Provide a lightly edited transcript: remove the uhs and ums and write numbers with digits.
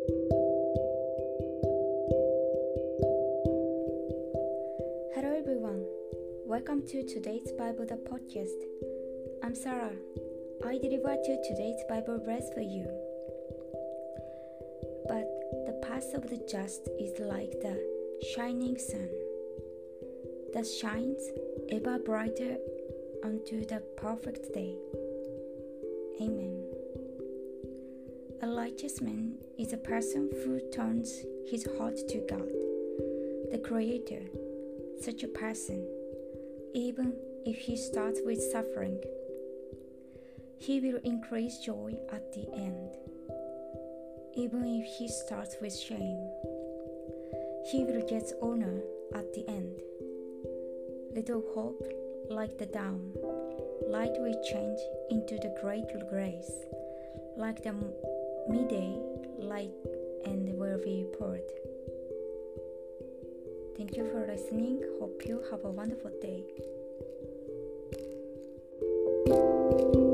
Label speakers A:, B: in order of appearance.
A: Hello everyone, welcome to today's Bible the podcast. I'm Sarah. I deliver to today's Bible verse for you. But the path of the just is like the shining sun that shines ever brighter unto the perfect day. Amen. A righteous man is a person who turns his heart to God, the Creator. Such a person, even if he starts with suffering, he will increase joy at the end. Even if he starts with shame, he will get honor at the end. Little hope, like the dawn, light will change into the great grace, like the midday light, and will be poured. Thank you for listening. Hope you have a wonderful day.